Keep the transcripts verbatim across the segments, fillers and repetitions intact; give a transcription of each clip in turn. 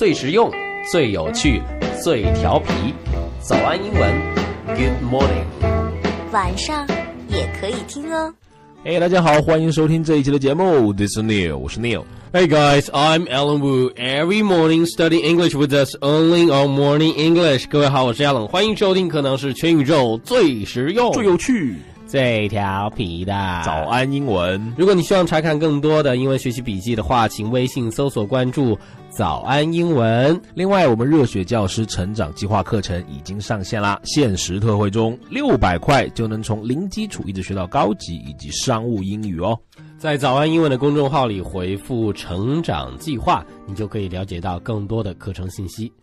最实用、最有趣、最调皮。早安英文 ，Good morning。 晚上也可以听哦。 嘿、hey, 大家好，欢迎收听这一期的节目 This is Neil， 我是 Neil。Hey guys, I'm Alan Wu. Every morning study English with us only on Morning English. 各位好，我是 Alan， 欢迎收听可能是全宇宙最实用、 最有趣、 最调皮的早安英文。 如果你希望查看更多的英文学习笔记的话，请微信搜索关注早安英文。 另外，我们热血教师成长计划课程已经上线啦，限时特惠中，六百块就能从零基础一直学到高级以及商务英语哦。 在早安英文的公众号里回复成长计划，你就可以了解到更多的课程信息。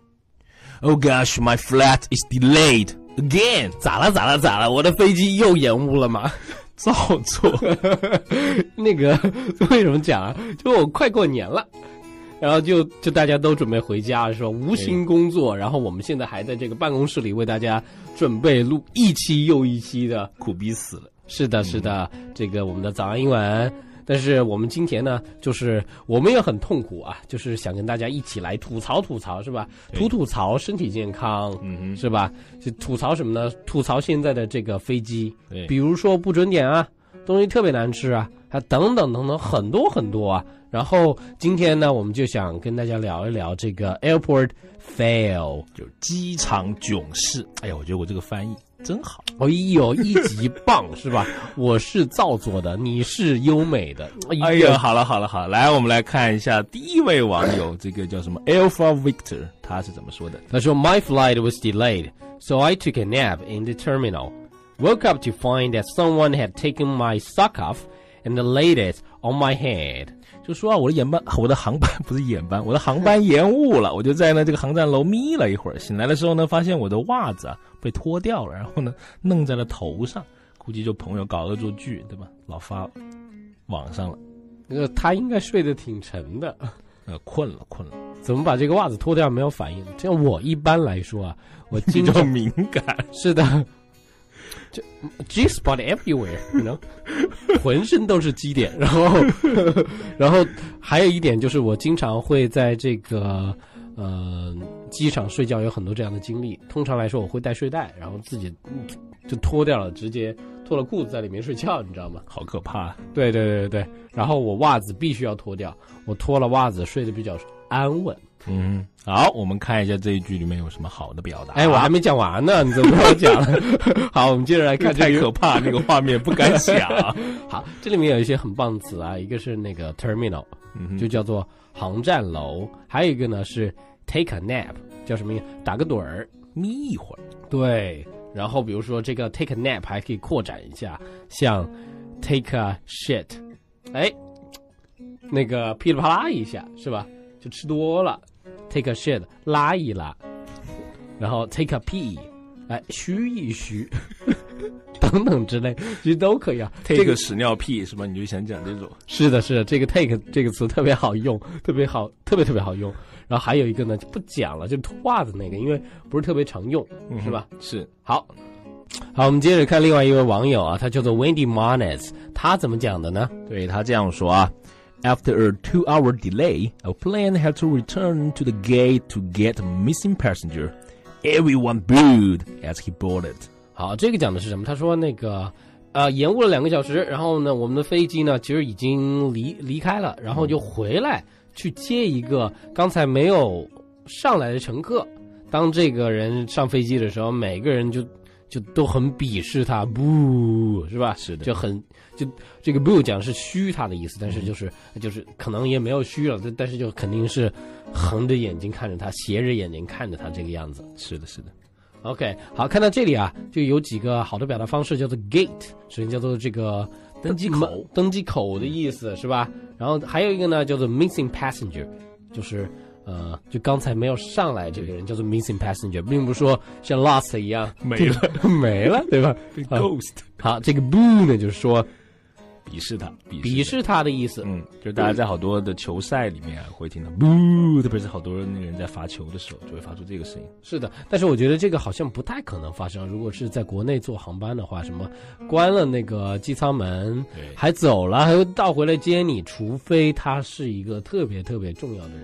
Oh gosh, my flight is delayed again. 咋了咋了咋了，我的飞机又延误了吗？ 照做。 那个为什么讲啊，就我快过年了，然后就就大家都准备回家，是吧？无心工作，然后我们现在还在这个办公室里为大家准备录一期又一期的， 苦逼死了。 是的是的、嗯、这个我们的早安英文。但是我们今天呢，就是我们也很痛苦啊，就是想跟大家一起来吐槽吐槽，是吧？吐吐槽身体健康，嗯，是吧？就吐槽什么呢？吐槽现在的这个飞机，比如说不准点啊，东西特别难吃啊，还等等等等很多很多啊。然后今天呢，我们就想跟大家聊一聊这个 airport fail， 就是机场囧事。哎呀，我觉得我这个翻译真好， 哎呦，一级棒是吧？我是造作的，你是优美的。 哎呀，好了好了好了，来我们来看一下第一位网友，这个叫什么 Alpha Victor， 他是怎么说的？ 他说 My flight was delayed, so I took a nap in the terminal. Woke up to find that someone had taken my sock off and laid it on my head. 就说啊，我的眼班，我的航班不是眼班，我的航班延误了。我就在呢这个航站楼眯了一会儿，醒来的时候呢，发现我的袜子啊被脱掉了，然后呢弄在了头上，估计就朋友搞恶作剧，对吧？老发网上了。 那个他应该睡得挺沉的， 呃，困了困了。 怎么把这个袜子脱掉没有反应？这样我一般来说啊，我经常比较敏感。 是的。就 G spot everywhere, you know， 浑身都是基点。然后，然后还有一点就是，我经常会在这个呃机场睡觉，有很多这样的经历。通常来说，我会带睡袋，然后自己就脱掉了，直接脱了裤子在里面睡觉，你知道吗？ 好可怕！ 对对对对对。然后我袜子必须要脱掉，我脱了袜子睡得比较安稳。 嗯，好，我们看一下这一句里面有什么好的表达。 哎，我还没讲完呢，你怎么跟我讲了？好，我们接着来看、这个。 太可怕，那个画面不敢想。 好，这里面有一些很棒的词啊，一个是那个 terminal，、嗯、就叫做航站楼，还有一个呢是 take a nap， 叫什么呀？打个盹儿， 眯一会儿。 对，然后比如说这个 take a nap 还可以扩展一下，像 take a shit， 哎，那个噼里啪啦一下，是吧？就吃多了。take a shit 拉一拉，然后 take a pee 哎嘘一嘘等等之类，其实都可以啊。 take 个屎尿屁是吧？你就想讲这种？ 是的是的，这个 take 这个词特别好用，特别好，特别特别好用。然后还有一个呢就不讲了，就脱袜子那个，因为不是特别常用、嗯、是吧？ 是。 好好，我们接着看另外一位网友啊，他叫做 Wendy Marnes， 他怎么讲的呢？ 对，他这样说啊，After a two-hour delay, our plane had to return to the gate to get a missing passenger. Everyone booed as he boarded. 好，这个讲的是什么？他说那个呃延误了两个小时，然后呢我们的飞机呢其实已经离离开了，然后就回来去接一个刚才没有上来的乘客。当这个人上飞机的时候，每个人就就都很鄙视他，不是吧？ 是的， 就很就这个 boo 讲是虚他的意思，但是就是、嗯、就是可能也没有虚了，但是就肯定是横着眼睛看着他，斜着眼睛看着他这个样子。 是的，是的。 OK， 好，看到这里啊，就有几个好的表达方式，叫做 gate， 首先叫做这个登机口， 登机口的意思是吧？然后还有一个呢，叫做 missing passenger， 就是。呃，就刚才没有上来这个人叫做 missing passenger， 并不是说像 lost 一样没了没了，对吧？ 被 ghost。 好，这个 boo 呢，就是说鄙视他， 鄙视他的意思。 嗯，就大家在好多的球赛里面、啊、会听到 boo， 特别是好多那个人在罚球的时候，就会发出这个声音。 是的，但是我觉得这个好像不太可能发生。如果是在国内坐航班的话，什么关了那个机舱门，还走了，还会倒回来接你，除非他是一个特别特别重要的人。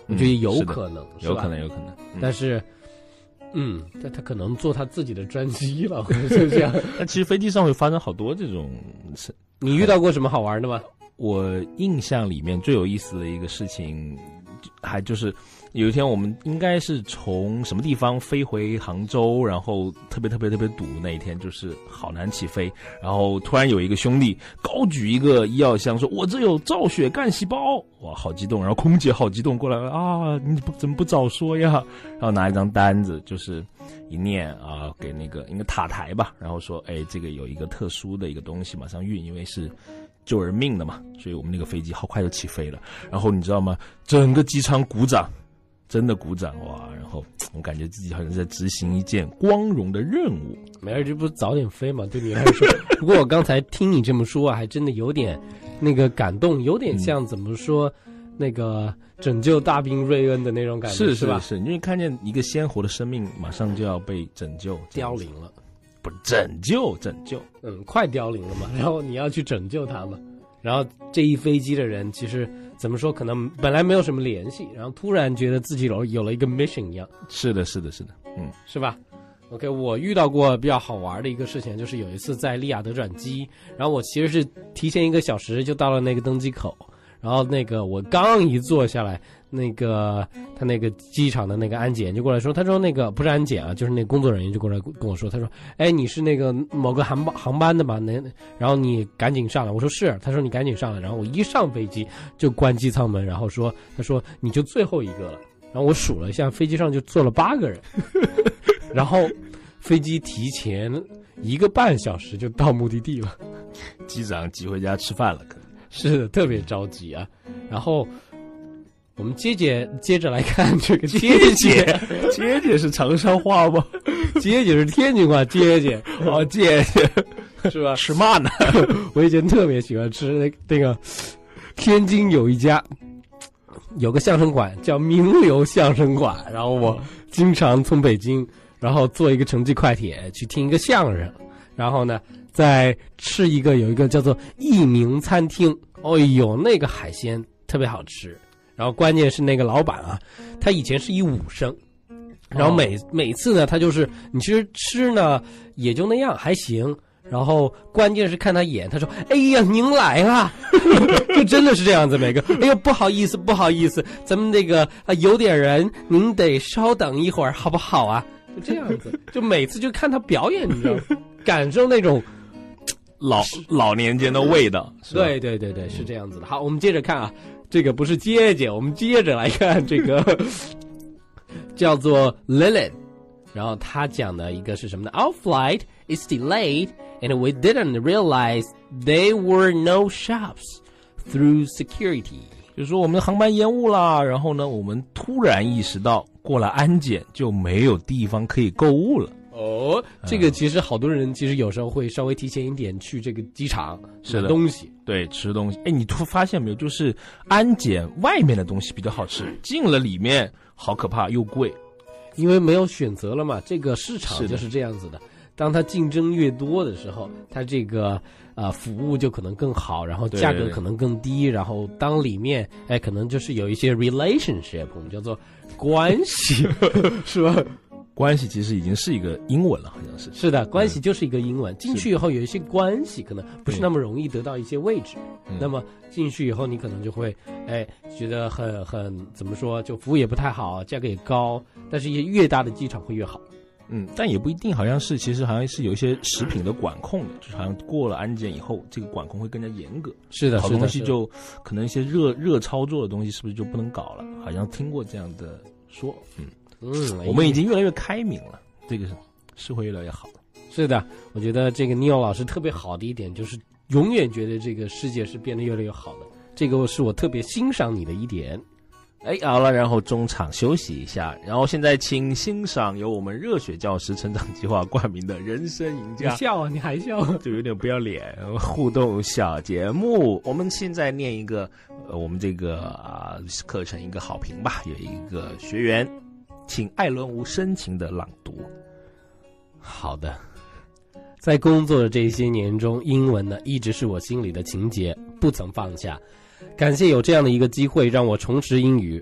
我觉得有可能， 有可能，有可能。 嗯、但是，嗯，但他可能坐他自己的专机了，或者是这样。 但其实飞机上会发生好多这种。 你遇到过什么好玩的吗？ 我印象里面最有意思的一个事情，还就是有一天我们应该是从什么地方飞回杭州，然后特别特别特别堵，那一天就是好难起飞，然后突然有一个兄弟高举一个医药箱说我这有造血干细胞，哇好激动，然后空姐好激动过来啊，你不怎么不早说呀，然后拿一张单子就是一念啊，给那个一个塔台吧，然后说哎这个有一个特殊的一个东西马上运，因为是救人命的嘛，所以我们那个飞机好快就起飞了。然后你知道吗？整个机场鼓掌，真的鼓掌哇！然后我感觉自己好像在执行一件光荣的任务。 没事，这不是早点飞嘛？对你来说。不过我刚才听你这么说啊，还真的有点那个感动，有点像怎么说、嗯、那个拯救大兵瑞恩的那种感觉， 是是吧？ 是是，因为看见一个鲜活的生命马上就要被拯救， 凋零了。 不拯救拯救嗯快凋零了嘛，然后你要去拯救他嘛，然后这一飞机的人其实怎么说，可能本来没有什么联系，然后突然觉得自己有有了一个 mission 一样。 是的是的是的，嗯， 是吧？ OK， 我遇到过比较好玩的一个事情，就是有一次在利雅得转机，然后我其实是提前一个小时就到了那个登机口，然后那个我刚一坐下来，那个他那个机场的那个安检就过来说，他说那个不是安检啊，就是那个工作人员就过来跟我说，他说哎你是那个某个航班航班的吗？那然后你赶紧上来。我说是。他说你赶紧上来。然后我一上飞机就关机舱门，然后说他说你就最后一个了。然后我数了一下，飞机上就坐了八个人，然后飞机提前一个半小时就到目的地了， 机长急回家吃饭了，可能是的，特别着急啊。然后我们接着接着来看这个接姐， 接姐是长沙话吗？ 接姐是天津话，接姐哦，接姐是吧？ 吃嘛呢？ 我以前特别喜欢吃那那个天津有一家有个相声馆叫名流相声馆，然后我经常从北京然后坐一个城际快铁去听一个相声，然后呢再吃一个有一个叫做益明餐厅，哦呦那个海鲜特别好吃，然后关键是那个老板啊，他以前是一武生，然后每、哦、每次呢他就是你其实吃呢也就那样还行，然后关键是看他演，他说哎呀您来了就真的是这样子，每个哎呦不好意思不好意思咱们那个啊有点人您得稍等一会儿好不好啊，就这样子，就每次就看他表演你知道吗，感受那种老老年间的味道。 对对对对，是这样子的。好，我们接着看啊，这个不是接姐，我们接着来看这个叫做 Lilith， 然后他讲的一个是什么呢？ Our flight is delayed and we didn't realize there were no shops through security， 就是说我们的航班延误了，然后呢我们突然意识到过了安检就没有地方可以购物了。 哦，这个其实好多人其实有时候会稍微提前一点去这个机场买东西， 对，吃东西。哎，你突发现没有，就是安检外面的东西比较好吃，进了里面好可怕又贵， 因为没有选择了嘛。这个市场就是这样子的，当它竞争越多的时候，它这个呃服务就可能更好，然后价格可能更低，对对对，然后当里面哎可能就是有一些 relationship， 我们叫做关系，是吧？ 关系其实已经是一个英文了，好像是。 是的，关系就是一个英文。进去以后有一些关系可能不是那么容易得到一些位置，嗯、那么进去以后你可能就会，哎，觉得很很怎么说，就服务也不太好，价格也高，但是越大的机场会越好。 嗯，但也不一定，好像是其实好像是有一些食品的管控的，就是好像过了安检以后，这个管控会更加严格。 是的， 好东西就可能一些热热操作的东西是不是就不能搞了？好像听过这样的说，嗯。嗯，我们已经越来越开明了，这个是会越来越好。 是的，我觉得这个 Neil 老师特别好的一点就是永远觉得这个世界是变得越来越好的，这个是我特别欣赏你的一点。 哎，好了，然后中场休息一下，然后现在请欣赏由我们热血教师成长计划冠名的人生赢家。 你笑啊，你还笑， 就有点不要脸。互动小节目，我们现在念一个呃，我们这个啊、呃、课程一个好评吧，有一个学员。请艾伦吴深情的朗读。 好的，在工作的这些年中，英文呢一直是我心里的情结，不曾放下。感谢有这样的一个机会让我重拾英语。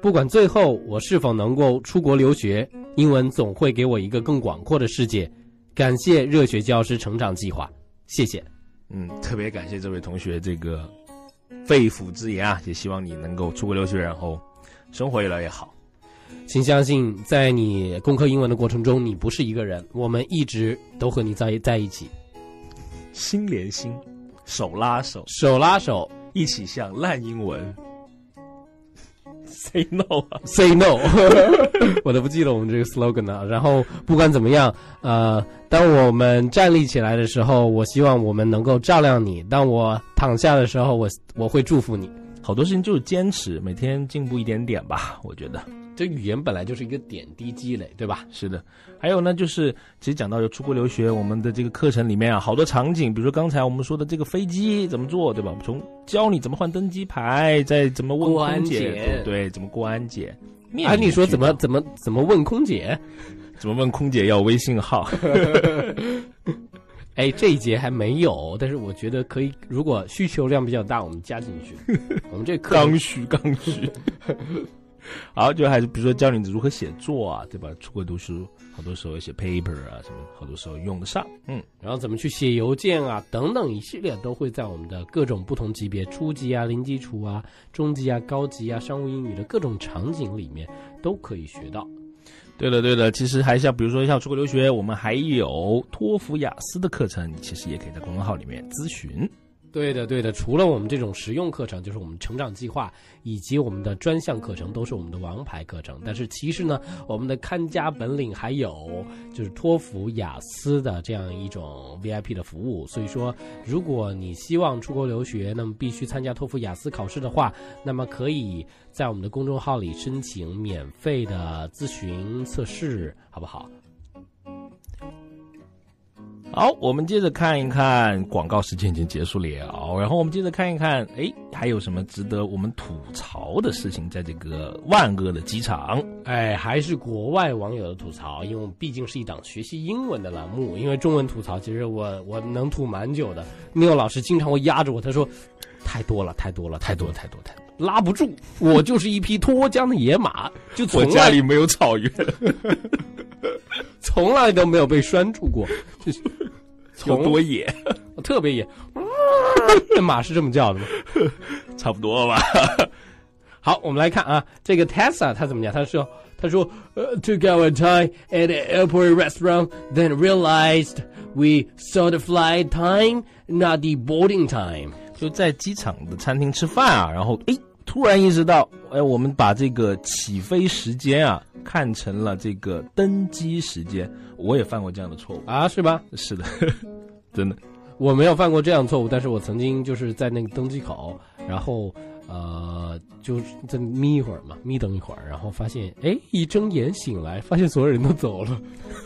不管最后我是否能够出国留学，英文总会给我一个更广阔的世界。感谢热血教师成长计划，谢谢。 嗯，特别感谢这位同学这个肺腑之言啊，也希望你能够出国留学，然后生活越来越好。 请相信，在你攻克英文的过程中，你不是一个人，我们一直都和你在在一起， 心连心，手拉手， 手拉手， 一起向烂英文 say no 啊 say no 我都不记得我们这个 slogan 了。然后不管怎么样，呃，当我们站立起来的时候，我希望我们能够照亮你；当我躺下的时候，我我会祝福你。 好多事情就是坚持，每天进步一点点吧，我觉得。 这语言本来就是一个点滴积累，对吧？ 是的。还有呢，就是其实讲到出国留学，我们的这个课程里面啊，好多场景，比如说刚才我们说的这个飞机怎么做，对吧？从教你怎么换登机牌，再怎么问空姐，对，怎么过安检。 哎，你说怎么怎么怎么问空姐？ 怎么问空姐要微信号？ 哎，这一节还没有，但是我觉得可以，如果需求量比较大，我们加进去。我们这课刚需刚需。好，就还是比如说教你如何写作啊，对吧？出国读书，好多时候写 paper 啊，什么，好多时候用得上。嗯， 然后怎么去写邮件啊，等等一系列都会在我们的各种不同级别，初级啊、零基础啊、中级啊、高级啊、商务英语的各种场景里面都可以学到。 对了对了，其实还像比如说像出国留学，我们还有托福雅思的课程，你其实也可以在公众号里面咨询。 对的对的，除了我们这种实用课程，就是我们成长计划以及我们的专项课程都是我们的王牌课程，但是其实呢，我们的看家本领还有就是托福雅思的这样一种 V I P 的服务。所以说如果你希望出国留学，那么必须参加托福雅思考试的话，那么可以在我们的公众号里申请免费的咨询测试，好不好？ 好，我们接着看一看，广告时间已经结束了，然后我们接着看一看，哎，还有什么值得我们吐槽的事情在这个万恶的机场？ 哎，还是国外网友的吐槽，因为我们毕竟是一档学习英文的栏目，因为中文吐槽其实我我能吐蛮久的。Neil 老师经常会压着我，他说太多了，太多了，太多了，太多太多，拉不住，我就是一匹脱缰的野马，就从来我家里没有草原。 从来都没有被拴住过，就是有多野， 特别野。这马是这么叫的吗？ 差不多吧。 好，我们来看啊，这个 Tessa 他怎么讲？他说，他说、uh, took our time at an airport restaurant, then realized we saw the flight time, not the boarding time. 就在机场的餐厅吃饭啊，然后诶。突然意识到，哎，我们把这个起飞时间啊看成了这个登机时间。我也犯过这样的错误啊，是吧？ 是的，真的， 我没有犯过这样的错误，但是我曾经就是在那个登机口，然后呃，就在眯一会儿嘛，眯等一会儿，然后发现，哎，一睁眼醒来，发现所有人都走了。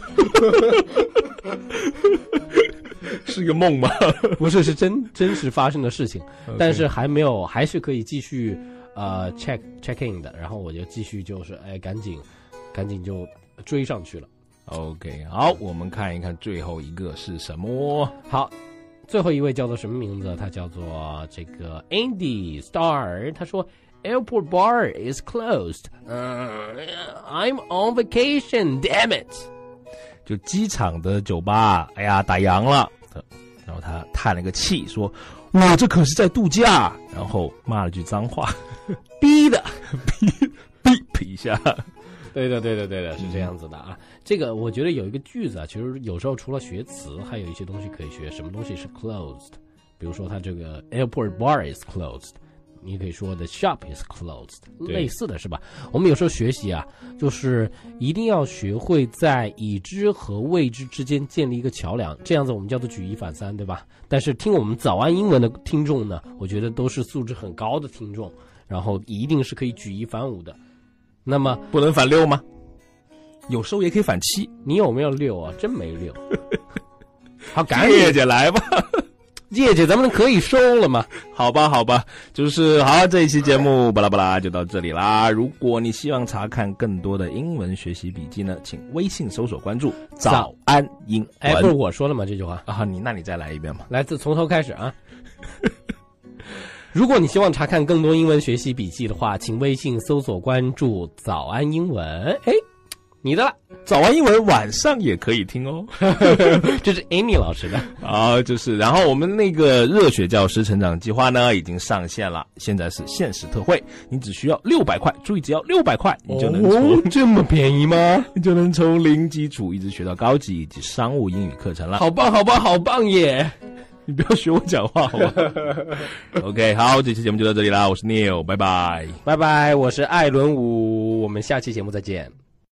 是个梦吗？ 不是，是真真实发生的事情， okay. 但是还没有，还是可以继续呃 check check in 的，然后我就继续就是哎赶紧赶紧就追上去了。 OK， 好，我们看一看最后一个是什么。 好，最后一位叫做什么名字？他叫做这个 Andy Star， 他说 Airport bar is closed、uh, I'm on vacation, damn it。 就机场的酒吧，哎呀打烊了。然后他叹了个气说，我这可是在度假，然后骂了句脏话， 逼的逼逼逼一下。 对的对的对的，是这样子的啊、嗯、这个我觉得有一个句子啊，其实有时候除了学词还有一些东西可以学。什么东西是 closed， 比如说它这个 airport bar is closed，你可以说 the shop is closed， 类似的是吧？我们有时候学习啊，就是一定要学会在已知和未知之间建立一个桥梁，这样子我们叫做举一反三，对吧？但是听我们早安英文的听众呢，我觉得都是素质很高的听众，然后一定是可以举一反五的。那么不能反六吗？有时候也可以反七。 你有没有六啊？真没六。好，赶紧叶姐来吧。 叶姐，咱们可以收了吗？ 好吧，好吧，就是好，这一期节目巴拉巴拉就到这里啦。如果你希望查看更多的英文学习笔记呢，请微信搜索关注早安英文。 哎，不是我说了吗？这句话啊，你那你再来一遍吧。 来自从头开始啊。 如果你希望查看更多英文学习笔记的话，请微信搜索关注早安英文。哎，你的了。 早安英文晚上也可以听哦。 这是 Amy 老师的。 啊，就是，然后我们那个热血教师成长计划呢已经上线了，现在是限时特惠，你只需要六百块，注意只要六百块，你就能从、 哦、这么便宜吗？ 你就能从零基础一直学到高级以及商务英语课程了。 好棒好棒好棒耶！ 你不要学我讲话好吗？OK， 好，这期节目就到这里啦，我是 Neil， 拜拜， 拜拜，我是艾伦武，我们下期节目再见。